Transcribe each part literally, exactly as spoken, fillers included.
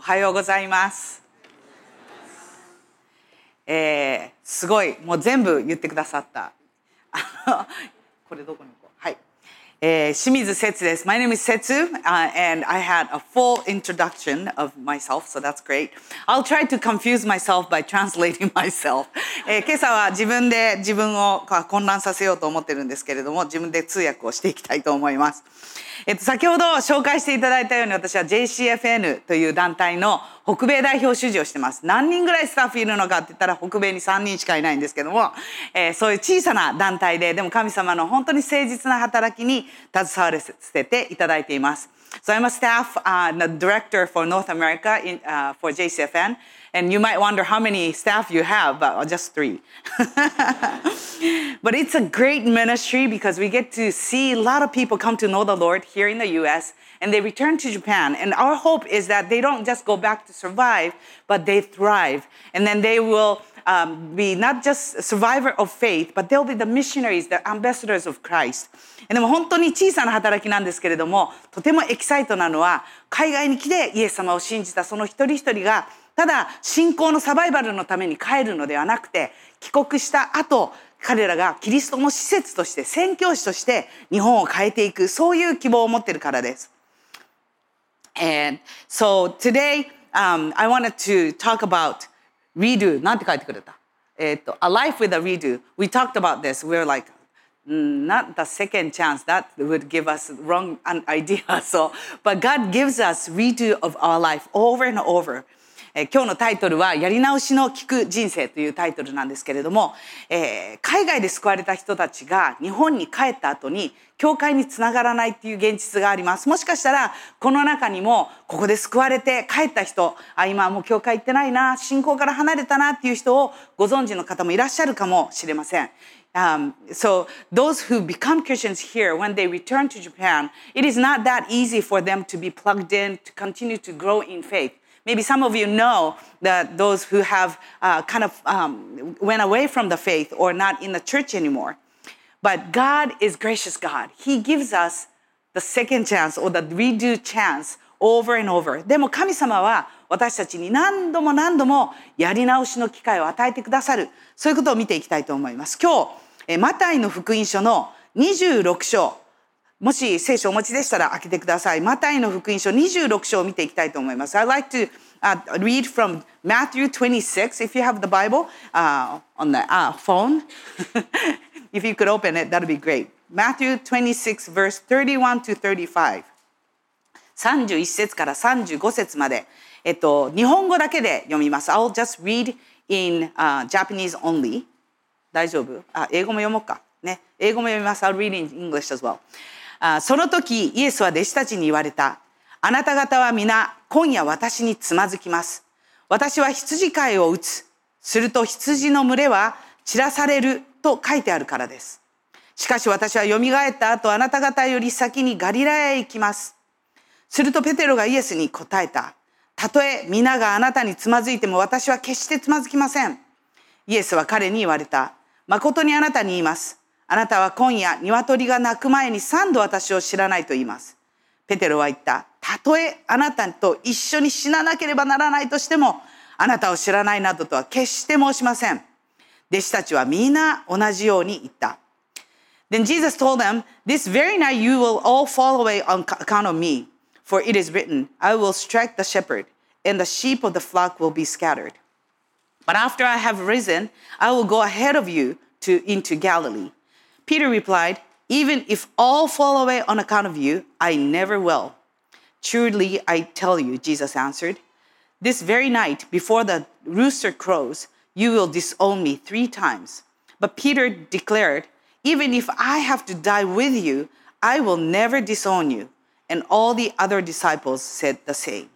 はようございます。えー、すごい、もう全部言ってくださった。これどこに行こう。はい。えー、清水節です。My name is Setsu,、uh, and I had a full introduction of myself, so that's great. I'll try to confuse myself by translating myself. えー、今朝は自分で自分を混乱させようと思ってるんですけれども、自分で通訳をしていきたいと思います。えっと、先ほど紹介していただいたように、私は ジェイシーエフエヌ という団体の北米代表主事をしてます。何人ぐらいスタッフいるのかって言ったら、北米にさんにんしかいないんですけども、えー、そういう小さな団体で、でも神様の本当に誠実な働きに携わらせていただいています。So I'm a staff、uh, the director for North America in,、uh, for ジェイシーエフエヌ, and you might wonder how many staff you have, but just three. But it's a great ministry because we get to see a lot of people come to know the Lord here in the U S and they return to Japan. And our hope is that they don't just go back to survive, but they thrive. And then they will、um, be not just a survivor of faith, but they'll be the missionaries, the ambassadors of Christ. でも本当に小さな働きなんですけれども、とてもエキサイトなのは、海外に来てイエス様を信じたその一人一人が、ただ信仰のサバイバルのために帰るのではなくて、帰国した後、彼らがキリストの施設として、宣教師として日本を変えていく、そういう希望を持っているからです。And so today,、um, I wanted to talk about redo. なんて書いてくれた？えっと、A life with a redo. We talked about this. We were like,Not the second chance. That would give us wrong idea. So, but God gives us redo of our life over and over. えー、今日のタイトルはやり直しの聞く人生というタイトルなんですけれども、えー、海外で救われた人たちが日本に帰った後に教会につながらないっていう現実があります。もしかしたらこの中にもここで救われて帰った人、あ、今はもう教会行ってないな、信仰から離れたなっていう人をご存知の方もいらっしゃるかもしれません。Um, so those who become Christians here, when they return to Japan, it is not that easy for them to be plugged in, to continue to grow in faith. Maybe some of you know that those who have uh, kind of um, went away from the faith or not in the church anymore. But God is gracious God. He gives us the second chance or the redo chance over and over. でも神様は私たちに何度も何度もやり直しの機会を与えてくださる。そういうことを見ていきたいと思います。今日、マタイの福音書のにじゅうろく章、もし聖書をお持ちでしたら開けてください。マタイの福音書にじゅうろく章を見ていきたいと思います。I'd like to、uh, read from Matthew twenty-six, if you have the Bible、uh, on the、uh, phone. If you could open it, that would be great. Matthew twenty-six, verse thirty-one to thirty-five. さんじゅういち節からさんじゅうご節まで、えっと、日本語だけで読みます。I'll just read in、uh, Japanese only. 大丈夫？あ、英語も読もうか。ね。英語も読みます。I'll read in English as well. あ、その時、イエスは弟子たちに言われた。あなた方は皆、今夜私につまずきます。私は羊飼いを打つ。すると羊の群れは散らされると書いてあるからです。しかし私は蘇った後、あなた方より先にガリラヤへ行きます。するとペテロがイエスに答えた。たとえ皆があなたにつまずいても私は決してつまずきません。イエスは彼に言われた。誠にあなたに言います。あなたは今夜鶏が鳴く前に三度私を知らないと言います。ペテロは言った。たとえあなたと一緒に死ななければならないとしても、あなたを知らないなどとは決して申しません。弟子たちはみんな同じように言った。Then Jesus told them, This very night you will all fall away on account of me. For it is written, I will strike the shepherd, and the sheep of the flock will be scattered. But after I have risen, I will go ahead of you to, into Galilee. Peter replied, Even if all fall away on account of you, I never will. Truly, I tell you, Jesus answered, This very night, before the rooster crows, you will disown me three times. But Peter declared, Even if I have to die with you, I will never disown you.And all the other disciples said the same.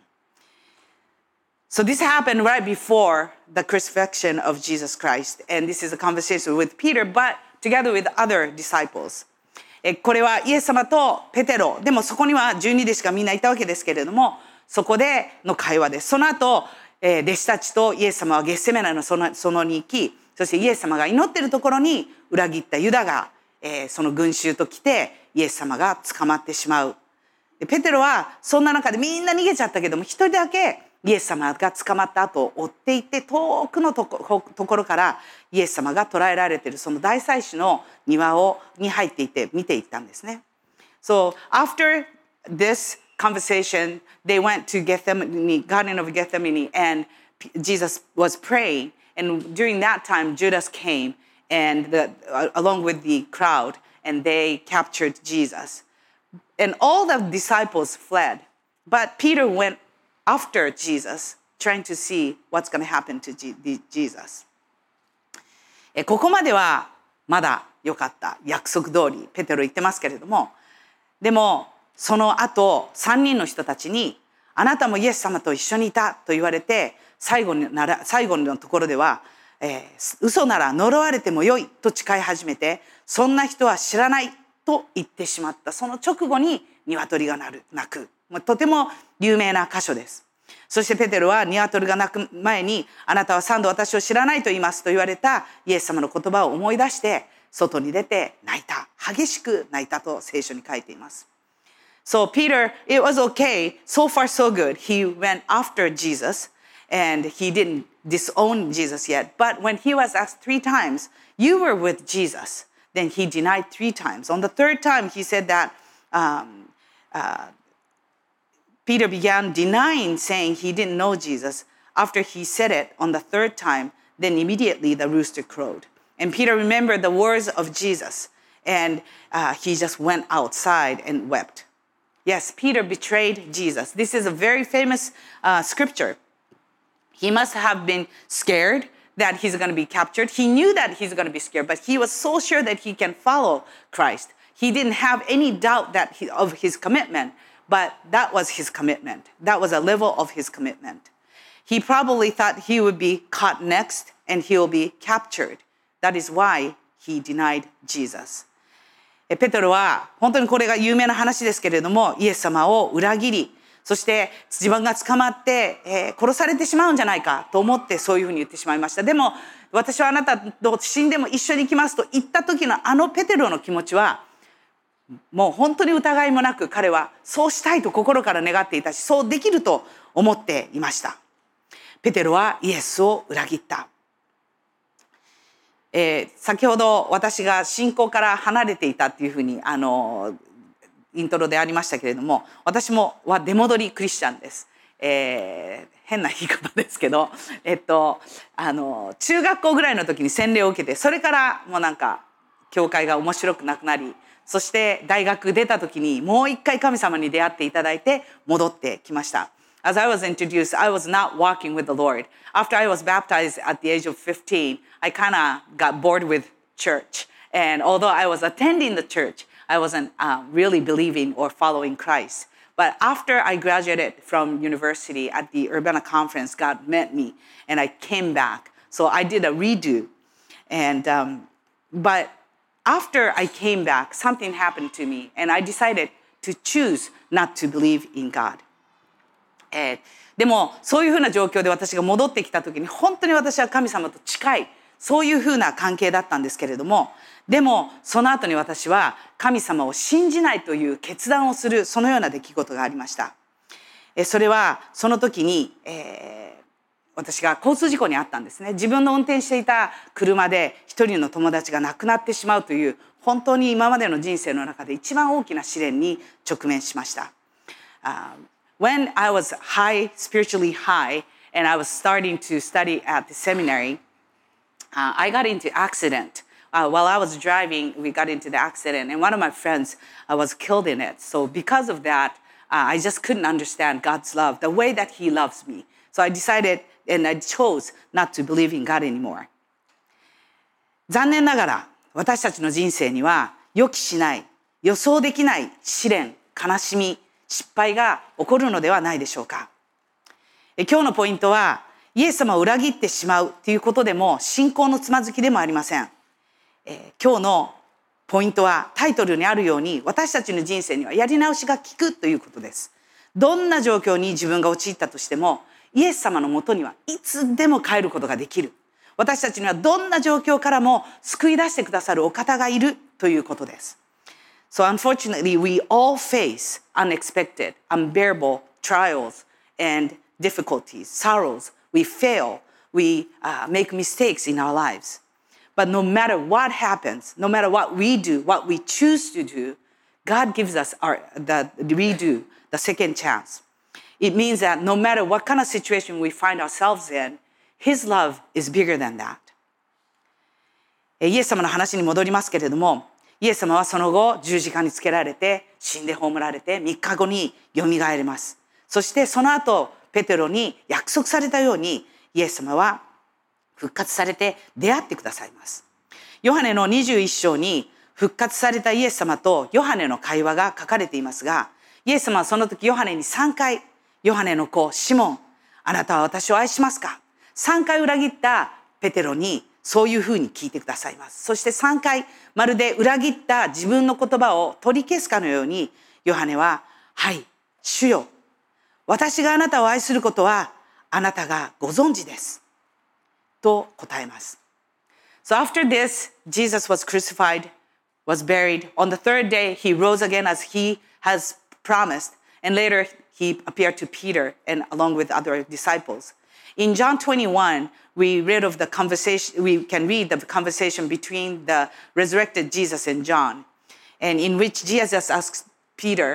So this happened right before the crucifixion of Jesus Christ. And this is a conversation with Peter, but together with other disciples. これはイエス様とペテロ、でもそこにはじゅうに弟子がみんないたわけですけれども、そこでの会話です。その後、弟子たちとイエス様はゲッセメナの園に行き、そしてイエス様が祈っているところに裏切ったユダが、その群衆と来てイエス様が捕まってしまう。ペテロはそんな中でみんな逃げちゃったけども、一人だけイエス様が捕まった後を追っていって、遠くのとこ、ところからイエス様が捕らえられているその大祭司の庭をに入っていって見ていったんですね。So after this conversation, they went to Gethsemane, Garden of Gethsemane, and Jesus was praying. And during that time, Judas came, and the, uh, along with the crowd, and they captured Jesus. And all the disciples fled, but Peter went after Jesus, trying to see what's going to happen to Jesus. ここまではまだ良かった。約束通りペテロ言ってますけれども、でもその後さんにんの人たちに、あなたもイエス様と一緒にいたと言われて、最後になら最後のところでは、えー、嘘なら呪われてもよいと誓い始めて、そんな人は知らないと言ってしまった。その直後に鶏が鳴る鳴く。とても有名な箇所です。そしてペテロは鶏が鳴く前に、あなたは三度私を知らないと言いますと言われたイエス様の言葉を思い出して外に出て泣いた。激しく泣いたと聖書に書いています。So Peter, it was okay. So far so good. He went after Jesus and he didn't disown Jesus yet. But when he was asked three times, you were with Jesus. Then he denied three times. On the third time, he said that um, uh, Peter began denying, saying he didn't know Jesus. After he said it on the third time, then immediately the rooster crowed. And Peter remembered the words of Jesus, and uh, he just went outside and wept. Yes, Peter betrayed Jesus. This is a very famous uh, scripture. He must have been scared that he's going to be captured. He knew that he's going to be scared, but he was so sure that he can follow Christ. He didn't have any doubt that he, of his commitment, but that was his commitment. That was a level of his commitment. He probably thought he would be caught next and he will be captured. That is why he denied Jesus. ペテロは本当にこれが有名な話ですけれども、イエス様を裏切り、そして自分が捕まって、えー、殺されてしまうんじゃないかと思ってそういうふうに言ってしまいました。でも私はあなたと死んでも一緒に行きますと言った時のあのペテロの気持ちはもう本当に疑いもなく、彼はそうしたいと心から願っていたし、そうできると思っていました。ペテロはイエスを裏切った。えー、先ほど私が信仰から離れていたっていうふうにあのイントロでありましたけれども、私もは出戻りクリスチャンです。えー、変な言い方ですけど、えっとあの中学校ぐらいの時に洗礼を受けて、それからもうなんか教会が面白くなくなり、そして大学出た時にもう一回神様に出会っていただいて戻ってきました。As I was introduced, I was not walking with the Lord. After I was baptized at the age of fifteen, I kind of got bored with church. And although I was attending the church, I wasn't uh, really believing or following Christ. But after I graduated from university at the Urbana conference, God met me and I came back. So I did a redo. And um, but after I came back, something happened to me and I decided to choose not to believe in God. えー、でもそういうふうな状況で私が戻ってきた時に本当に私は神様と近いそういうふうな関係だったんですけれども、でもその後に私は神様を信じないという決断をするそのような出来事がありました。えー、それはその時に、えー、私が交通事故に遭ったんですね。自分の運転していた車で一人の友達が亡くなってしまうという本当に今までの人生の中で一番大きな試練に直面しました。Uh, When I was high, spiritually high, and I was starting to study at the seminary, uh, I got into accident. Uh, while I was driving, we got into the accident, and one of my friends uh, was killed in it. So because of that, uh, I just couldn't understand God's love, the way that He loves me. So I decided, and I chose not to believe in God anymore. 残念ながら、私たちの人生には予期しない、予想できない試練、悲しみ、失敗が起こるのではないでしょうか。え今日のポイントは、イエス様を裏切ってしまうということでも信仰のつまずきでもありません。え今日のポイントはタイトルにあるように、私たちの人生にはやり直しが効くということです。どんな状況に自分が陥ったとしても、イエス様のもとにはいつでも帰ることができる。私たちにはどんな状況からも救い出してくださるお方がいるということです。So unfortunately, we all face unexpected, unbearable trials and difficulties, sorrows. We fail. We uh, make mistakes in our lives. But no matter what happens, no matter what we do, what we choose to do, God gives us our, the redo, the second chance. It means that no matter what kind of situation we find ourselves in, His love is bigger than that. イエス様の話に戻りますけれども、イエス様はその後十字架につけられて死んで葬られてみっかごによみがえります。そしてその後ペテロに約束されたようにイエス様は復活されて出会ってくださいます。ヨハネのにじゅういっ章に復活されたイエス様とヨハネの会話が書かれていますが、イエス様はその時ヨハネにさんかい、ヨハネの子シモン、あなたは私を愛しますか？さんかい裏切ったペテロにそういうふうに聞いてくださいます。そしてさんかいまるで裏切った自分の言葉を取り消すかのようにヨハネは、はい、主よ、私があなたを愛することはあなたがご存知ですと答えます。So after this, Jesus was crucified, was buried. On the third day, he rose again as he has promised. And later, he appeared to Peter and along with other disciples. In John twenty-one, we read of the conversation, we can read the conversation between the resurrected Jesus and John, and in which Jesus asks Peter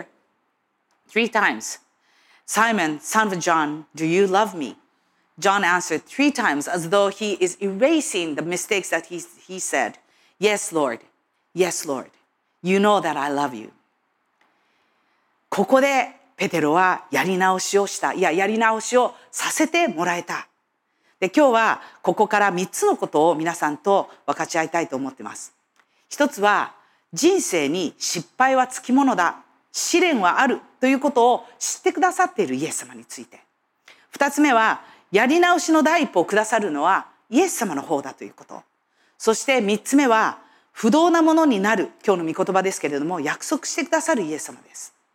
three times, Simon, son of John, do you love me? John answered three times as though he is erasing the mistakes that he, he said. Yes, Lord. Yes, Lord. You know that I love you. ここでペテロはやり直しをした。いや、やり直しをさせてもらえた。で、今日はここからみっつのことを皆さんと分かち合いたいと思っています。一つは、人生に失敗はつきものだ。試練はあるということを知ってくださっているイエス様について。二つ目は、やり直しの第一歩をくださるのはイエス様の方だということ。そして三つ目は、不動なものになる、今日の御言葉ですけれども、約束してくださるイエス様です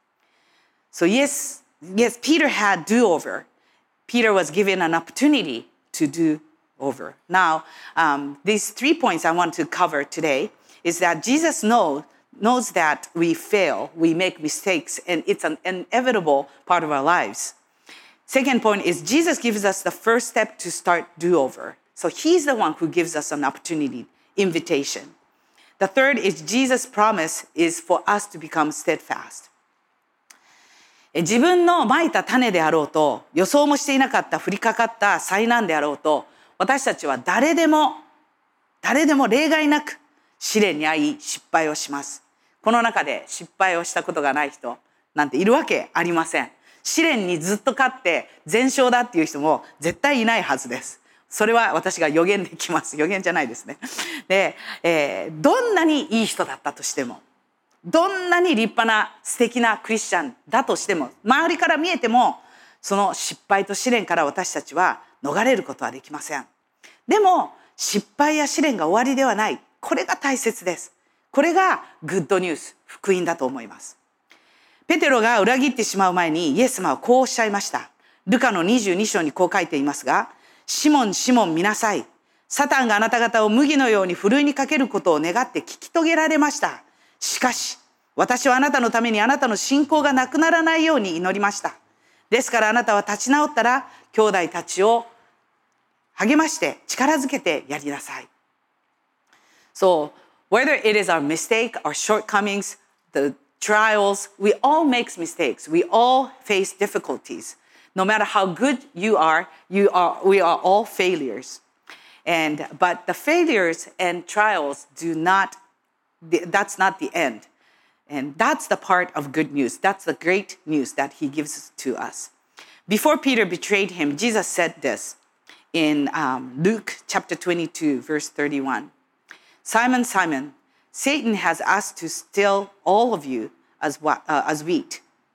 。So yes, yes, Peter had do-over. Peter was given an opportunity to do over. Now, um, these three points I want to cover today is that Jesus knows, knows that we fail, we make mistakes, and it's an inevitable part of our lives. Second point is Jesus gives us the first step to start do-over. So he's the one who gives us an opportunity, invitation. The third is Jesus' promise is for us to become steadfast. 自分の蒔いた種であろうと、予想もしていなかった降りかかった災難であろうと、私たちは誰でも、誰でも例外なく試練に遭い失敗をします。この中で失敗をしたことがない人なんているわけありません。試練にずっと勝って全勝だっていう人も絶対いないはずです。それは私が予言できます。予言じゃないですね。で、えー、どんなにいい人だったとしても、どんなに立派な素敵なクリスチャンだとしても、周りから見えても、その失敗と試練から私たちは逃れることはできません。でも、失敗や試練が終わりではない。これが大切です。これがグッドニュース、福音だと思います。ペテロが裏切ってしまう前にイエス様はこうおっしゃいました。ルカのにじゅうに章にこう書いていますが、シモン、シモン見なさい。サタンがあなた方を麦のようにふるいにかけることを願って聞き遂げられました。しかし、私はあなたのためにあなたの信仰がなくならないように祈りました。ですからあなたは立ち直ったら、兄弟たちを励まして力づけてやりなさい。So, whether it is our mistake, our shortcomings, the trials, we all make mistakes. We all face difficulties. No matter how good you are, you are, we are all failures. And, but the failures and trials do not, that's not the end. And that's the part of good news. That's the great news that he gives to us. Before Peter betrayed him, Jesus said this in um, Luke chapter twenty-two, verse thirty-one. Simon, Simon, Satan has asked to steal all of you as, uh, as wheat.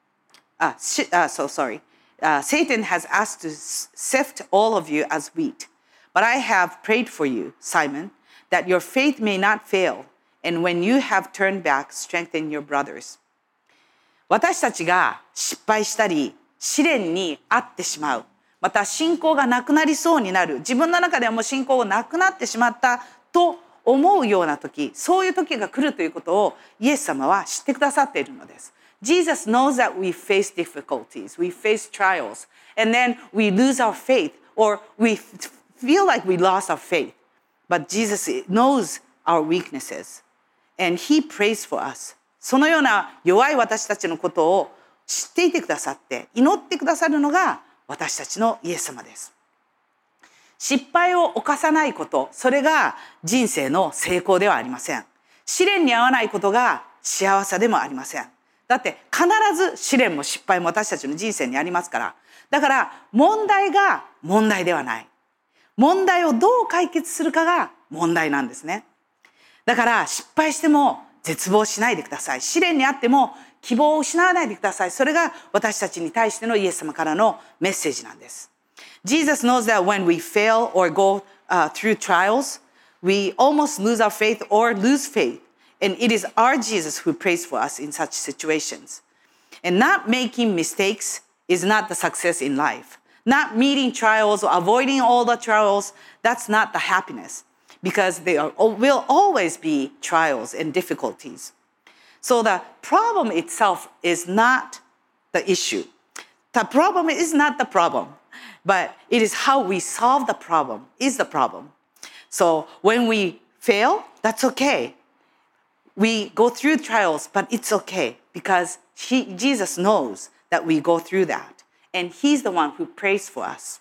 Uh, sh- uh, so sorry. Uh, Satan has asked to sift all of you as wheat. But I have prayed for you, Simon, that your faith may not fail.And when you have turned back, strengthen your brothers. 私たちが失敗したり、試練に遭ってしまう。また信仰がなくなりそうになる。自分の中ではもう信仰がなくなってしまったと思うような時、そういう時が来るということをイエス様は知ってくださっているのです。 Jesus knows that we face difficulties, we face trials, and then we lose our faith, or we feel like we lost our faith. But Jesus knows our weaknesses, and He prays for us. そのような弱い私たちのことを知っていてくださって、祈ってくださるのが私たちのイエス様です。失敗を犯さないこと、それが人生の成功ではありません。試練に遭わないことが幸せでもありません。だって必ず試練も失敗も私たちの人生にありますから。だから問題が問題ではない。問題をどう解決するかが問題なんですね。だから失敗しても絶望しないでください。試練にあっても希望を失わないでください。それが私たちに対してのイエス様からのメッセージなんです。Jesus knows that when we fail or go uh, through trials, we almost lose our faith or lose faith. And it is our Jesus who prays for us in such situations. And not making mistakes is not the success in life. Not meeting trials or avoiding all the trials, that's not the happiness. Because there will always be trials and difficulties. So the problem itself is not the issue. The problem is not the problem. But it is how we solve the problem is the problem. So when we fail, that's okay. We go through trials, but it's okay because he, Jesus knows that we go through that. And He's the one who prays for us.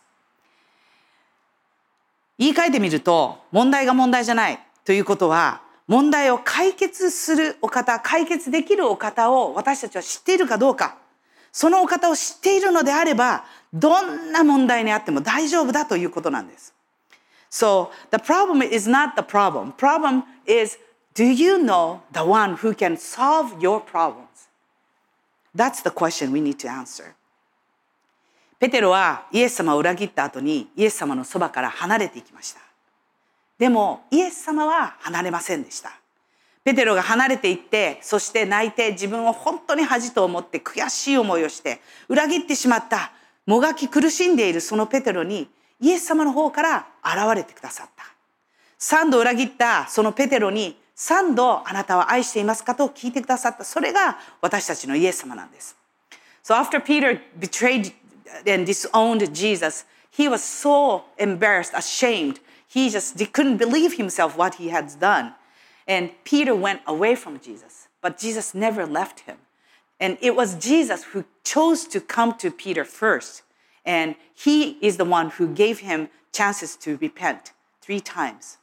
言い換えてみると、問題が問題じゃないということは、問題を解決するお方、解決できるお方を私たちは知っているかどうか。そのお方を知っているのであれば、どんな問題にあっても大丈夫だということなんです。So, the problem is not the problem. Problem is, do you know the one who can solve your problems? That's the question we need to answer. ペテロはイエス様を裏切った後にイエス様のそばから離れていきました。でも、イエス様は離れませんでした。ペテロが離れていって、そして泣いて自分を本当に恥と思って悔しい思いをして、裏切ってしまった、もがき苦しんでいるそのペテロに、イエス様の方から現れてくださった。三度裏切ったそのペテロに、三度あなたは愛していますかと聞いてくださった。それが私たちのイエス様なんです。So after Peter betrayed and disowned Jesus, he was so embarrassed, ashamed. He just couldn't believe himself what he had done. And Peter went away from Jesus, but Jesus never left him. And it was Jesus who chose to come to Peter first. And He is the one who gave him chances to repent three times.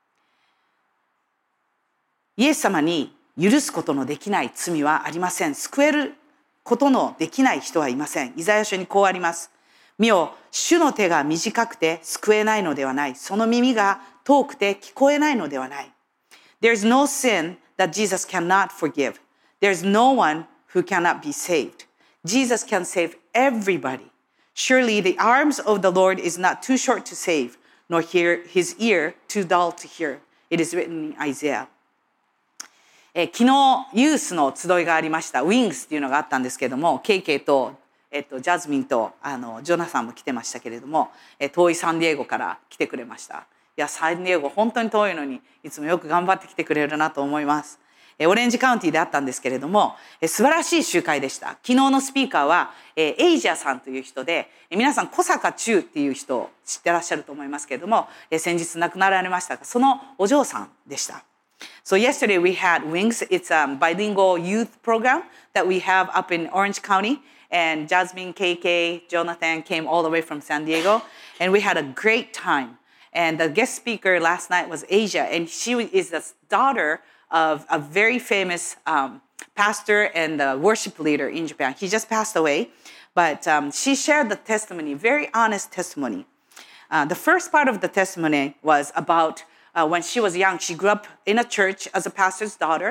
イエス様に許すことのできない罪はありません。救えることのできない人はいません。イザヤ書にこうあります。見よ、主の手が短くて救えないのではない。その耳が遠くて聞こえないのではない。There's no sin that Jesus cannot forgive. There's no one who cannot be saved. Jesus can save everybody. Surely the arms of the Lord is not too short to save, nor hear his ear too dull to hear. It is written in Isaiah. え昨日ユースの集いがありました。ウィングスっていうのがあったんですけれども、ケイケイと、えっと、ジャズミンとあのジョナサンも来てましたけれども、え遠いサンディエゴから来てくれました。いや、サンディエゴ本当に遠いのにいつもよく頑張ってきてくれるなと思います。オレンジカウンティであったんですけれども、素晴らしい集会でした。昨日のスピーカーはエイジャさんという人で、皆さん小坂忠っていう人を知ってらっしゃると思いますけれども、先日亡くなられましたが、そのお嬢さんでした。So yesterday we had Wings. It's a bilingual youth program that we have up in Orange County. And Jasmine, K K, Jonathan came all the way from San Diego. And we had a great time. And the guest speaker last night was Asia. And she is the daughter of a very famous um, pastor and uh, worship leader in Japan. He just passed away. But um, she shared the testimony, very honest testimony. Uh, the first part of the testimony was about uh, when she was young. She grew up in a church as a pastor's daughter.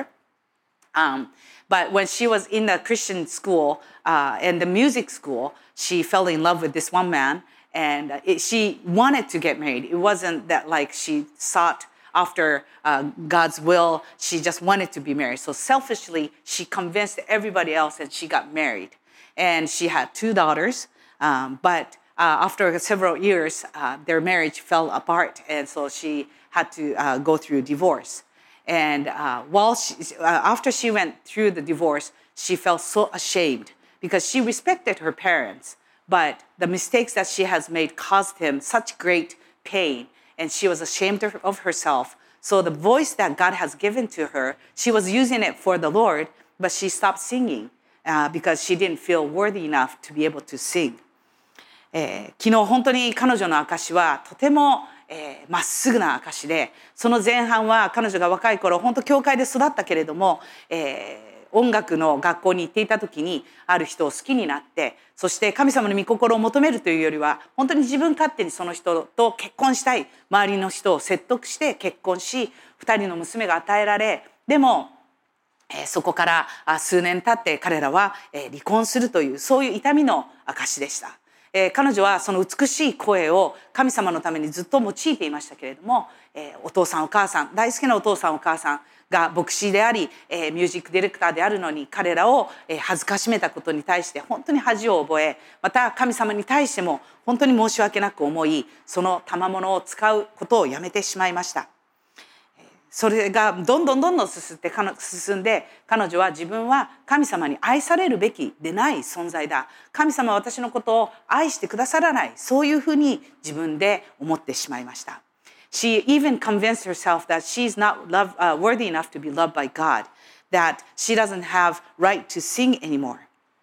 Um, but when she was in the Christian school uh, and the music school, she fell in love with this one man. And it, she wanted to get married. It wasn't that like she sought after uh, God's will. She just wanted to be married. So selfishly, she convinced everybody else and she got married. And she had two daughters. Um, but uh, after several years, uh, their marriage fell apart. And so she had to uh, go through divorce. And uh, while she, uh, after she went through the divorce, she felt so ashamed because she respected her parents, but the mistakes that she has made caused him such great pain, and she was ashamed of herself. So the voice that God has given to her, she was using it for the Lord, but she stopped singing uh, because she didn't feel worthy enough to be able to sing. えー、昨日本当に彼女の証はとてもえー、まっすぐな証で、その前半は彼女が若い頃本当教会で育ったけれども、えー、音楽の学校に行っていた時にある人を好きになって、そして神様の御心を求めるというよりは本当に自分勝手にその人と結婚したい、周りの人を説得して結婚し、二人の娘が与えられ、でも、えー、そこから数年経って彼らは、えー、離婚するというそういう痛みの証でした。えー、彼女はその美しい声を神様のためにずっと用いていましたけれども、えー、お父さんお母さん、大好きなお父さんお母さんが牧師であり、えー、ミュージックディレクターであるのに彼らを、えー、恥ずかしめたことに対して本当に恥を覚え、また神様に対しても本当に申し訳なく思い、その賜物を使うことをやめてしまいました。それがどんどんどんどん進んで、進んで彼女は自分は神様に愛されるべきでない存在だ。神様は私のことを愛してくださらない。そういうふうに自分で思ってしまいました。She even convinced herself that she's not love, uh, worthy enough to be loved by God, that she doesn't have right to sing anymore.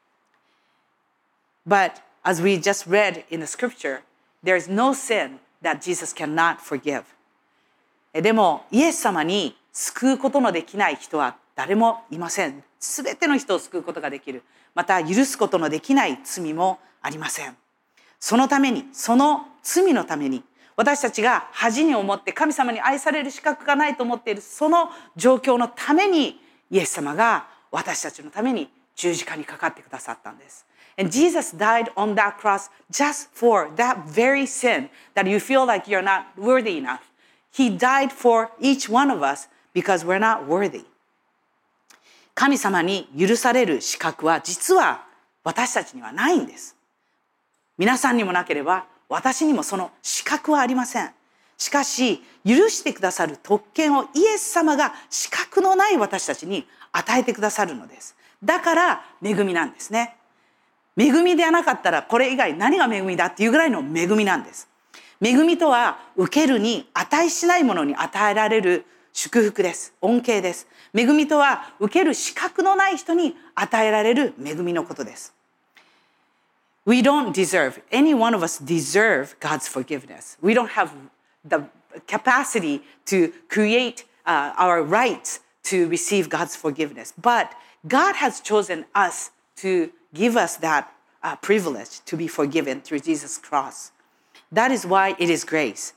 But as we just read in the scripture, there is no sin that Jesus cannot forgive.でもイエス様に救うことのできない人は誰もいません。すべての人を救うことができる。また許すことのできない罪もありません。そのために、その罪のために、私たちが恥に思って神様に愛される資格がないと思っているその状況のために、イエス様が私たちのために十字架にかかってくださったんです。And Jesus died on that cross just for that very sin that you feel like you're not worthy enough.He died for each one of us because we're not worthy. 神様に許される資格は実は私たちにはないんです。皆さんにもなければ私にもその資格はありません。しかし許してくださる特権をイエス様が資格のない私たちに与えてくださるのです。だから恵みなんですね。恵みではなかったらこれ以外何が恵みだっていうぐらいの恵みなんです。恵みとは受けるに値しないものに与えられる祝福です。恩恵です。恵みとは受ける資格のない人に与えられる恵みのことです。We don't deserve, any one of us deserve God's forgiveness. We don't have the capacity to create uh, our rights to receive God's forgiveness. But God has chosen us to give us that uh, privilege to be forgiven through Jesus' cross.That is why it is grace.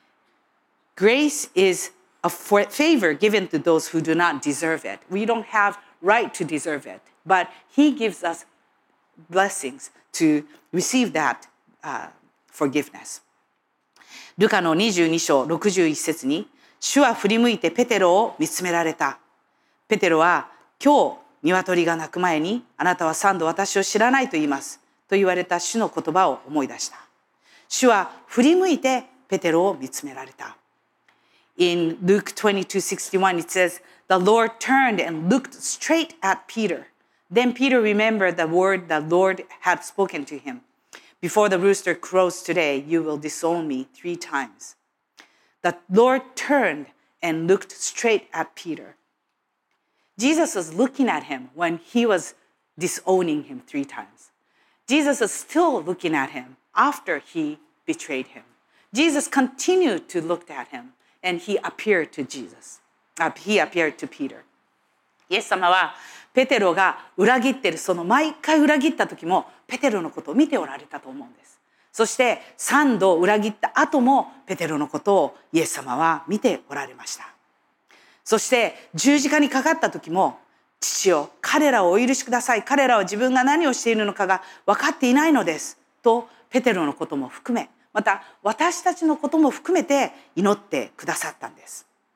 Grace is a favor given to those who do not deserve it. We don't have right to deserve it, but He gives us blessings to receive that uh, forgiveness. ルカのにじゅうに章ろくじゅういち節に、主は振り向いてペテロを見つめられた。ペテロは、今日鶏が鳴く前にあなたは三度私を知らないと言いますと言われた主の言葉を思い出した。主は振り向いてペテロを見つめられた。In Luke twenty-two sixty-one, it says, The Lord turned and looked straight at Peter. Then Peter remembered the word the Lord had spoken to him. Before the rooster crows today, you will disown me three times. The Lord turned and looked straight at Peter. Jesus was looking at him when he was disowning him three times. Jesus is still looking at him after he betrayed him. Jesus continued to look at him and he appeared to Jesus. Uh, he appeared to Peter. イエス様はペテロが裏切っている、その毎回裏切った時もペテロのことを見ておられたと思うんです。そして三度裏切った後もペテロのことをイエス様は見ておられました。そして十字架にかかった時も、父よ、彼らをお許しください。彼らは自分が何をしているのかが分かっていないのです。とペテロのことも含め、また私たちのことも含めて祈ってくださったんです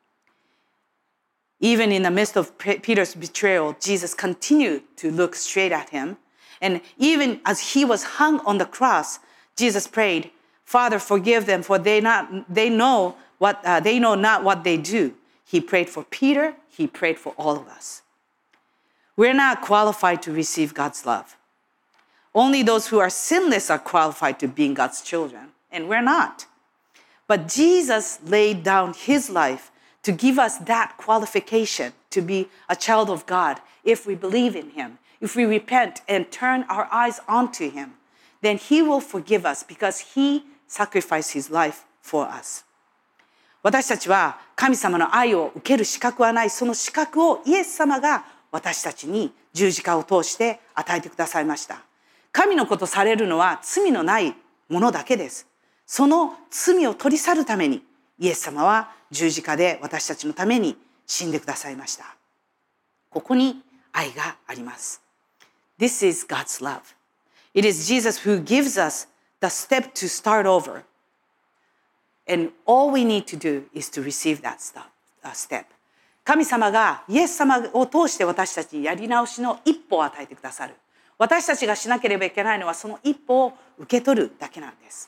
。Even in the midst of Peter's betrayal, Jesus continued to look straight at him. And even as he was hung on the cross, Jesus prayed, Father, forgive them, for they not they know what uh, they know not what they do. He prayed for Peter. He prayed for all of us. We're not qualified to receive God's love. Only those who are sinless are qualified to being God's children, and we're not. But Jesus laid down his life to give us that qualification to be a child of God if we believe in him. If we repent and turn our eyes onto him, then he will forgive us because he sacrificed his life for us. 私たちは神様の愛を受ける資格はない、その資格をイエス様が私たちに十字架を通して与えてくださいました。神の子とされるのは罪のないものだけです。その罪を取り去るためにイエス様は十字架で私たちのために死んでくださいました。ここに愛があります。This is God's love. It is Jesus who gives us the step to start over. And all we need to do is to receive that step. 神様がイエス様を通して私たちにやり直しの一歩を与えてくださる。私たちがしなければいけないのはその一歩を受け取るだけなんです。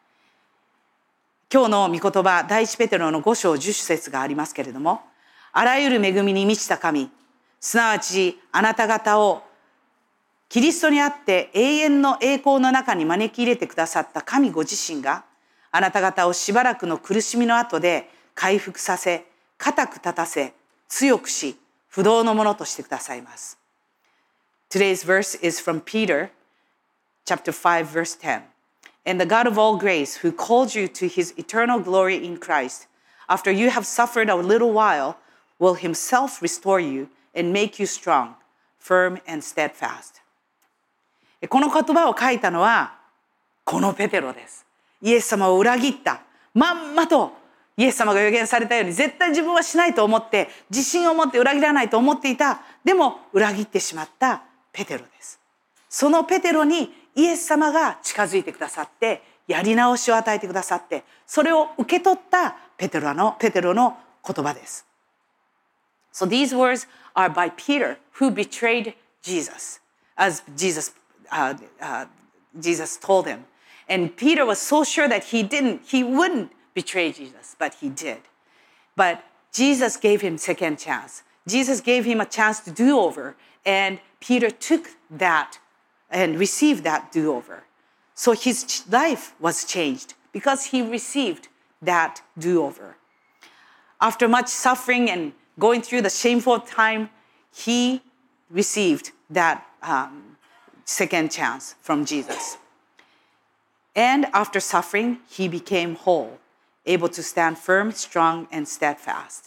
今日の御言葉、第一ペテロのご章十節がありますけれども、あらゆる恵みに満ちた神、すなわちあなた方をキリストにあって永遠の栄光の中に招き入れてくださった神ご自身が、あなた方をしばらくの苦しみの後で回復させ、固く立たせ、強くし、不動のものとしてくださいます。Today's verse is from Peter, chapter five, verse ten. And the God of all grace, who called you to his eternal glory in Christ, after you have suffered a little while, will himself restore you and make you strong, firm and steadfast. この言葉を書いたのは、このペテロです。イエス様を裏切った。まんまとイエス様が予言されたように、絶対自分はしないと思って、自信を持って裏切らないと思っていた。でも裏切ってしまったペテロです。そのペテロにイエス様が近づいてくださって、やり直しを与えてくださって、それを受け取ったペテロの、ペテロの言葉です。So these words are by Peter, who betrayed Jesus, as Jesus, uh, uh, Jesus told him. And Peter was so sure that he didn't, he wouldn't betray Jesus, but he did. But Jesus gave him second chance. Jesus gave him a chance to do over, and Peter took that and received that do-over. So his life was changed because he received that do-over. After much suffering and going through the shameful time, he received that um, second chance from Jesus. And after suffering, he became whole, able to stand firm, strong, and steadfast.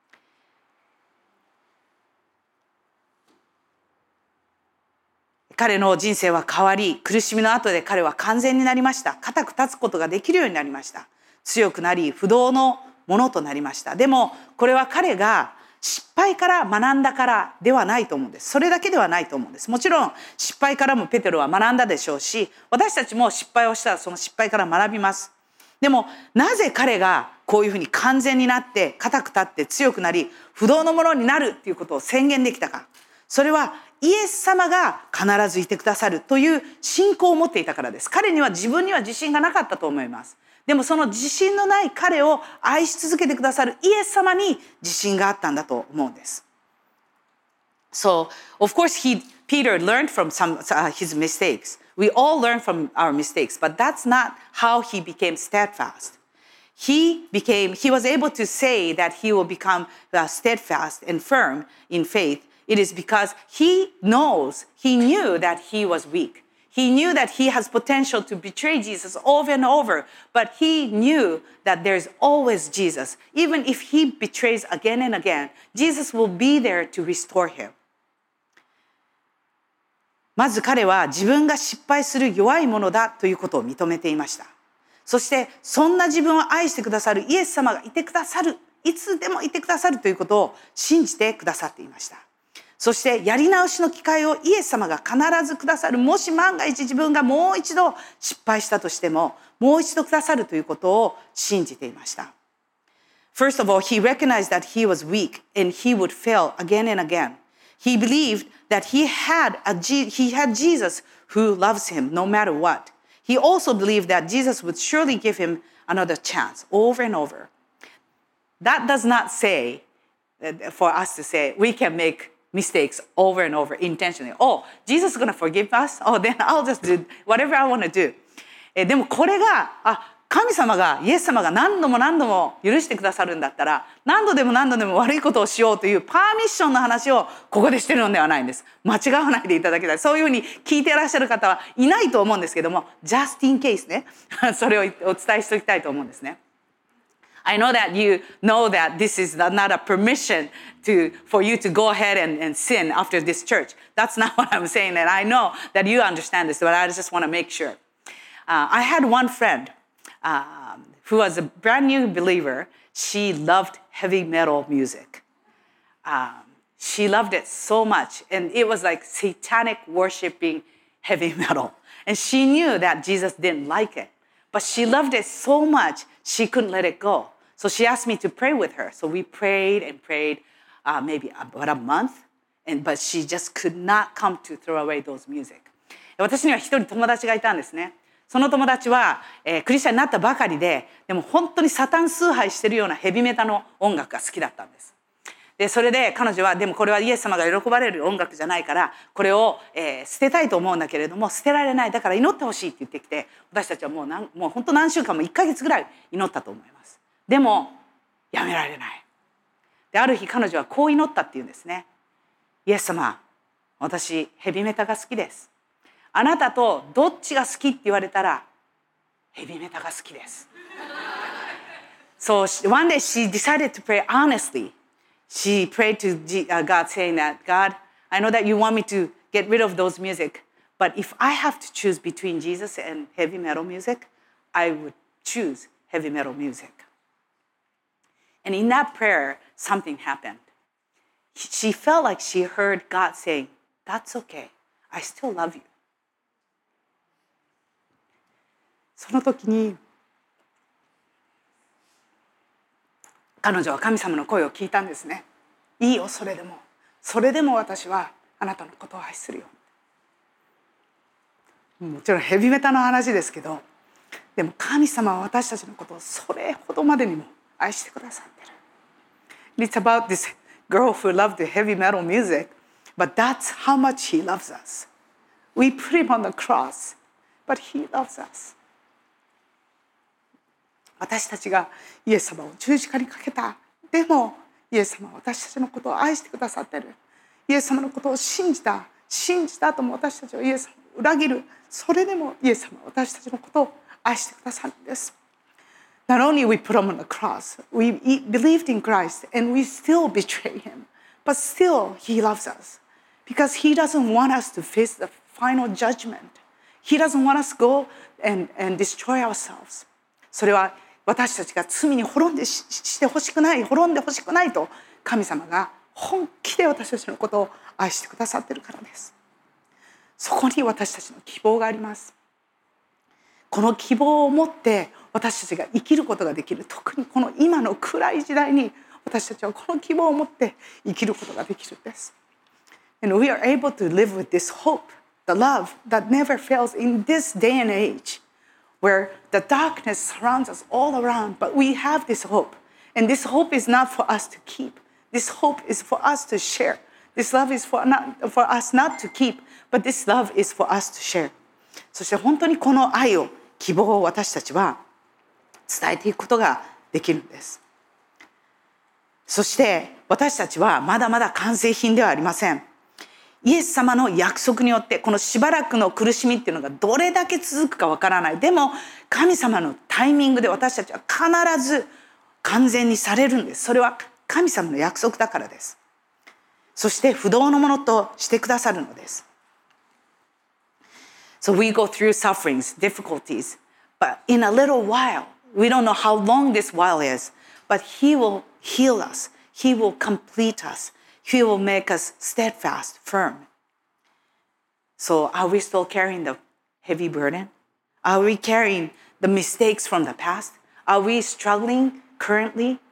彼の人生は変わり、苦しみの後で彼は完全になりました。固く立つことができるようになりました。強くなり、不動のものとなりました。でも、これは彼が失敗から学んだからではないと思うんです。それだけではないと思うんです。もちろん、失敗からもペテロは学んだでしょうし、私たちも失敗をしたらその失敗から学びます。でも、なぜ彼がこういうふうに完全になって、固く立って強くなり、不動のものになるっていうことを宣言できたか。それは、イエス様が必ずいてくださるという信仰を持っていたからです。彼には自分には自信がなかったと思います。でもその自信のない彼を愛し続けてくださるイエス様に自信があったんだと思うんです。So, of course, he, Peter learned from some, uh, his mistakes. We all learn from our mistakes, but that's not how he became steadfast. He became, he was able to say that he will become uh, steadfast and firm in faith. It is because he knows, he knew that he was weak. He knew that he has potential to betray Jesus over and over, but he knew that there's always Jesus. Even if he betrays again and again, Jesus will be there to restore him. まず彼は自分が失敗する弱いものだということを認めていました。そしてそんな自分を愛してくださるイエス様がいてくださる、いつでもいてくださるということを信じてくださっていました。そしてやり直しの機会をイエス様が必ずくださる。もし万が一自分がもう一度失敗したとしても、もう一度くださるということを信じていました。First of all, he recognized that he was weak and he would fail again and again. He believed that he had, a, he had Jesus who loves him no matter what. He also believed that Jesus would surely give him another chance over and over. That does not say, for us to say, we can make mistakes over and over intentionally. Oh, Jesus is going to forgive us? Oh, then I'll just do whatever I want to do. えでもこれが、あ、神様が、イエス様が何度も何度も許してくださるんだったら、何度でも何度でも悪いことをしようというパーミッションの話をここでしてるのではないんです。間違わないでいただきたい。そういうふうに聞いていらっしゃる方はいないと思うんですけども、just in case ね、それをお伝えしておきたいと思うんですね。I know that you know that this is not a permission to, for you to go ahead and, and sin after this church. That's not what I'm saying. And I know that you understand this, but I just want to make sure. Uh, I had one friend uh, who was a brand new believer. She loved heavy metal music. Um, she loved it so much. And it was like satanic worshiping heavy metal. And she knew that Jesus didn't like it. But she loved it so much, she couldn't let it go. So she asked me to pray with her. So we prayed and prayed uh, maybe about a month. And, but she just could not come to throw away those music. 私には一人友達がいたんですね。その友達は、えー、クリスチャンになったばかりで、でも本当にサタン崇拝してるようなヘビメタの音楽が好きだったんです。で、それで彼女は、でもこれはイエス様が喜ばれる音楽じゃないから、これを、えー、捨てたいと思うんだけれども、捨てられない。だから祈ってほしいって言ってきて、私たちはもう何、もう本当何週間もいっかげつぐらい祈ったと思います。でも、やめられない。で、ある日彼女はこう祈ったっていうんですね。イエス様、私、ヘビメタが好きです。あなたとどっちが好きって言われたら、ヘビメタが好きです。So one day she decided to pray honestly. She prayed to God saying that, God, I know that you want me to get rid of those music, but if I have to choose between Jesus and heavy metal music, I would choose heavy metal music. And in that prayer, something happened. She felt like she heard God saying, that's okay. I still love you. その時に彼女は神様の声を聞いたんですね。いいよ、それでも。それでも私はあなたのことを愛するよ。もちろんヘビメタの話ですけど、でも神様は私たちのことをそれほどまでにも愛してくださってる。It's about this girl who loved the heavy metal music, but that's how much he loves us. We put him on the cross, but he loves us. 私たちがイエス様を十字架にかけた。でもイエス様は私たちのことを愛してくださっている。イエス様のことを信じた。信じた後も私たちはイエス様を裏切る。それでもイエス様は私たちのことを愛してくださるんです。Not only we put him on the cross, we believed in Christ and we still betray him, but still he loves us because he doesn't want us to face the final judgment. He doesn't want us to go and, and destroy ourselves. それは私たちが罪に滅んで し, してほしくない、滅んでほしくないと神様が本気で私たちのことを愛してくださっているからです。そこに私たちの希望があります。この希望を持って私たちが生きることができる。特にこの今の暗い時代に私たちはこの希望を持って生きることができるんです。And we are able to live with this hope, the love that never fails in this day and age.Where the darkness surrounds us all around, but we have this hope. And this hope is not for us to keep. This hope is for us to share. This love is for, not, for us not to keep, but this love is for us to share. そして本当にこの愛を、希望を私たちは伝えていくことができるんです。そして私たちはまだまだ完成品ではありません。イエス様の約束によってこのしばらくの苦しみっていうのがどれだけ続くかわからない。でも神様のタイミングで私たちは必ず完全にされるんです。それは神様の約束だからです。そして不動のものとしてくださるのです。So we go through sufferings, difficulties, but in a little while, we don't know how long this while is, but He will heal us. He will complete us.He will make us steadfast, firm. So are we still carrying the heavy burden? Are we carrying the mistakes from the past? Are we struggling currently?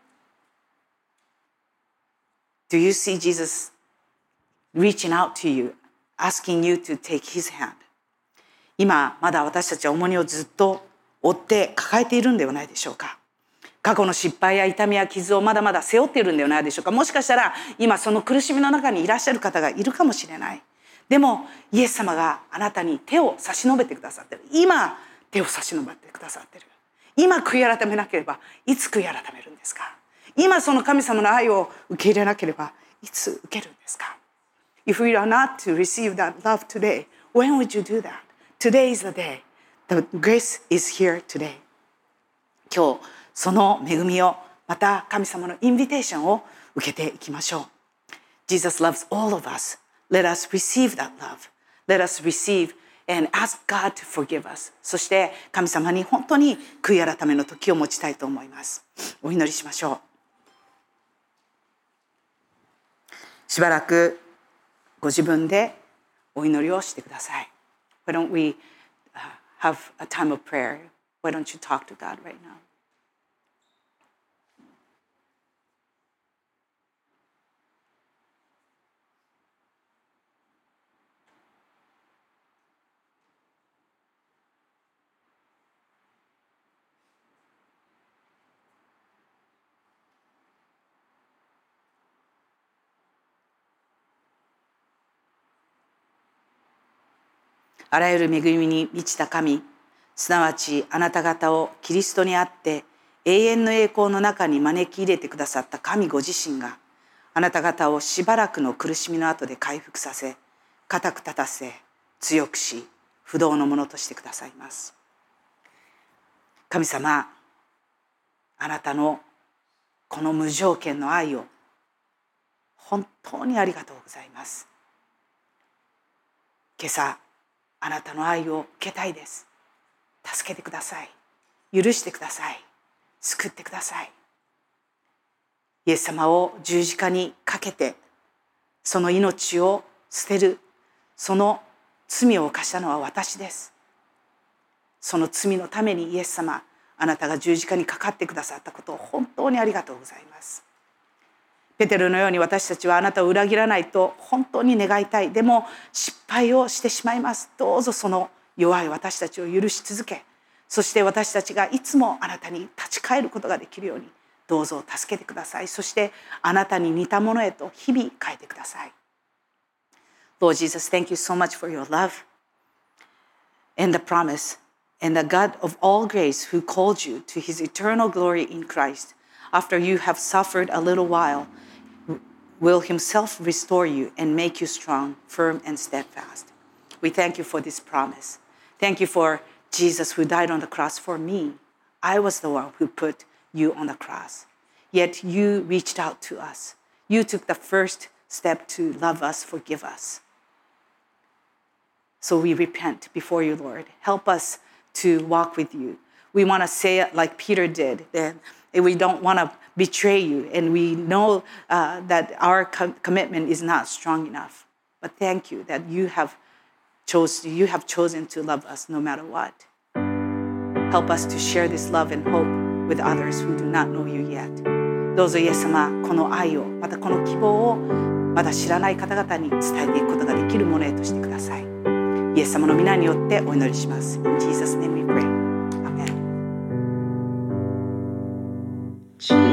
Do you see Jesus reaching out to you, asking you to take his hand? 今まだ私たちは重荷をずっと負って抱えているんではないでしょうか。 過去の失敗や痛みや傷をまだまだ背負っているんではないでしょうか。もしかしたら今その苦しみの中にいらっしゃる方がいるかもしれない。でもイエス様があなたに手を差し伸べてくださっている。今手を差し伸べてくださっている。今悔い改めなければいつ悔い改めるんですか。今その神様の愛を受け入れなければいつ受けるんですか。 If we are not to receive that love today, when would you do that? Today is the day. The grace is here today. 今日その恵みを、また神様のインビテーションを受けていきましょう。 Jesus loves all of us. Let us receive that love. Let us receive and ask God to forgive us. そして神様に本当に悔い改めの時を持ちたいと思います。お祈りしましょう。しばらくご自分でお祈りをしてください。Why don't we have a time of prayer? Why don't you talk to God right now?あらゆる恵みに満ちた神、すなわちあなた方をキリストにあって永遠の栄光の中に招き入れてくださった神ご自身が、あなた方をしばらくの苦しみの後で回復させ、固く立たせ、強くし、不動のものとしてくださいます。神様、あなたのこの無条件の愛を本当にありがとうございます。今朝あなたの愛を受けたいです。助けてください。許してください。救ってください。イエス様を十字架にかけて、その命を捨てる、その罪を犯したのは私です。その罪のためにイエス様、あなたが十字架にかかってくださったことを本当にありがとうございます。ペテロのように私たちはあなたを裏切らないと本当に願いたい。でも失敗をしてしまいます。どうぞその弱い私たちを許し続け、そして私たちがいつもあなたに立ち返ることができるようにどうぞ助けてください。そしてあなたに似たものへと日々変えてください。Lord Jesus, thank you so much for your love and the promise and the God of all grace who called you to his eternal glory in Christ. After you have suffered a little while, will himself restore you and make you strong, firm, and steadfast. We thank you for this promise. Thank you for Jesus who died on the cross for me. I was the one who put you on the cross. Yet you reached out to us. You took the first step to love us, forgive us. So we repent before you, Lord. Help us to walk with you. We want to say it like Peter did, that we don't want to betray you, and we know uh, that our com- commitment is not strong enough. But thank you that you have chose you have chosen to love us no matter what. Help us to share this love and hope with others who do not know you yet. どうぞイエス様、この愛を、またこの希望をまだ知らない方々に伝えていくことができるものへとしてください。イエス様の皆によってお祈りします。In Jesus' name we pray. Amen.